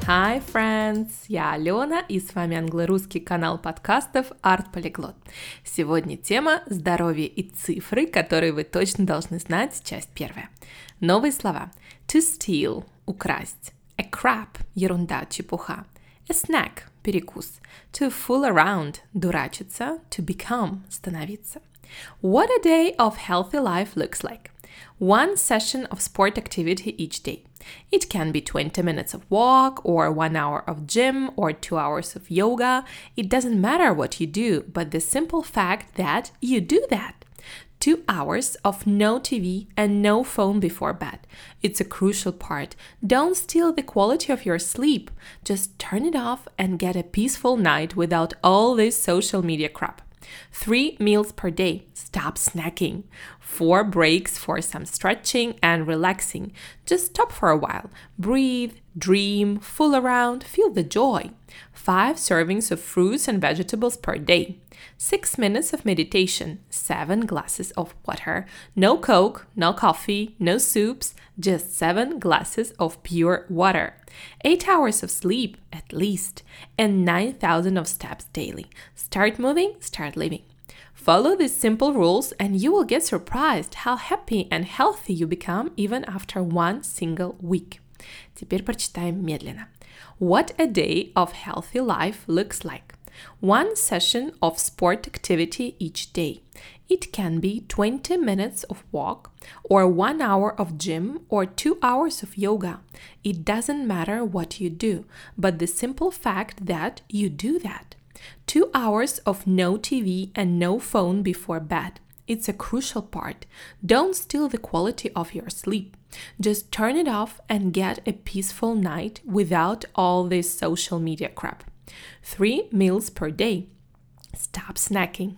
Hi, friends! Я Алена, и с вами англо-русский канал подкастов Art Polyglot. Сегодня тема «Здоровье и цифры», которые вы точно должны знать, часть первая. Новые слова. To steal – украсть. A crap – ерунда, чепуха. A snack – перекус. To fool around – дурачиться. To become – становиться. What a day of healthy life looks like. One session of sport activity each day. It can be 20 minutes of walk, or 1 hour of gym, or 2 hours of yoga. It doesn't matter what you do, but the simple fact that you do that. 2 hours of no TV and no phone before bed. It's a crucial part. Don't steal the quality of your sleep. Just turn it off and get a peaceful night without all this social media crap. 3 meals per day. Stop snacking. 4 breaks for some stretching and relaxing. Just stop for a while. Breathe, dream, fool around, feel the joy. 5 servings of fruits and vegetables per day. 6 minutes of meditation. 7 glasses of water. No Coke, no coffee, no soups, just 7 glasses of pure water. 8 hours of sleep, at least, and 9,000 of steps daily. Start moving, start living. Follow these simple rules and you will get surprised how happy and healthy you become even after one single week. Теперь прочитаем медленно. What a day of healthy life looks like. One session of sport activity each day. It can be 20 minutes of walk, or 1 hour of gym, or 2 hours of yoga. It doesn't matter what you do, but the simple fact that you do that. 2 hours of no TV and no phone before bed. It's a crucial part. Don't steal the quality of your sleep. Just turn it off and get a peaceful night without all this social media crap. 3 meals per day. Stop snacking.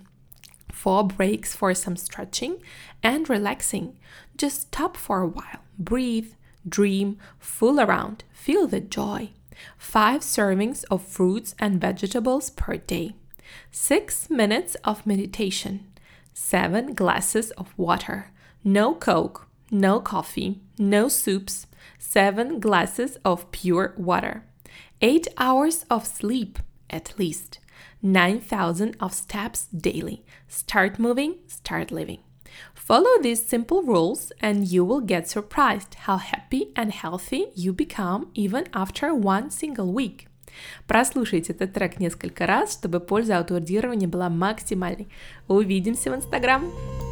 4 breaks for some stretching and relaxing. Just stop for a while. Breathe, dream, fool around, feel the joy. 5 servings of fruits and vegetables per day. 6 minutes of meditation. 7 glasses of water. No Coke, no coffee, no soups. 7 glasses of pure water. 8 hours of sleep, at least. 9,000 of steps daily. Start moving, start living. Follow these simple rules and you will get surprised how happy and healthy you become even after one single week. Прослушайте этот трек несколько раз, чтобы польза аудиоревания была максимальной. Увидимся в Инстаграм!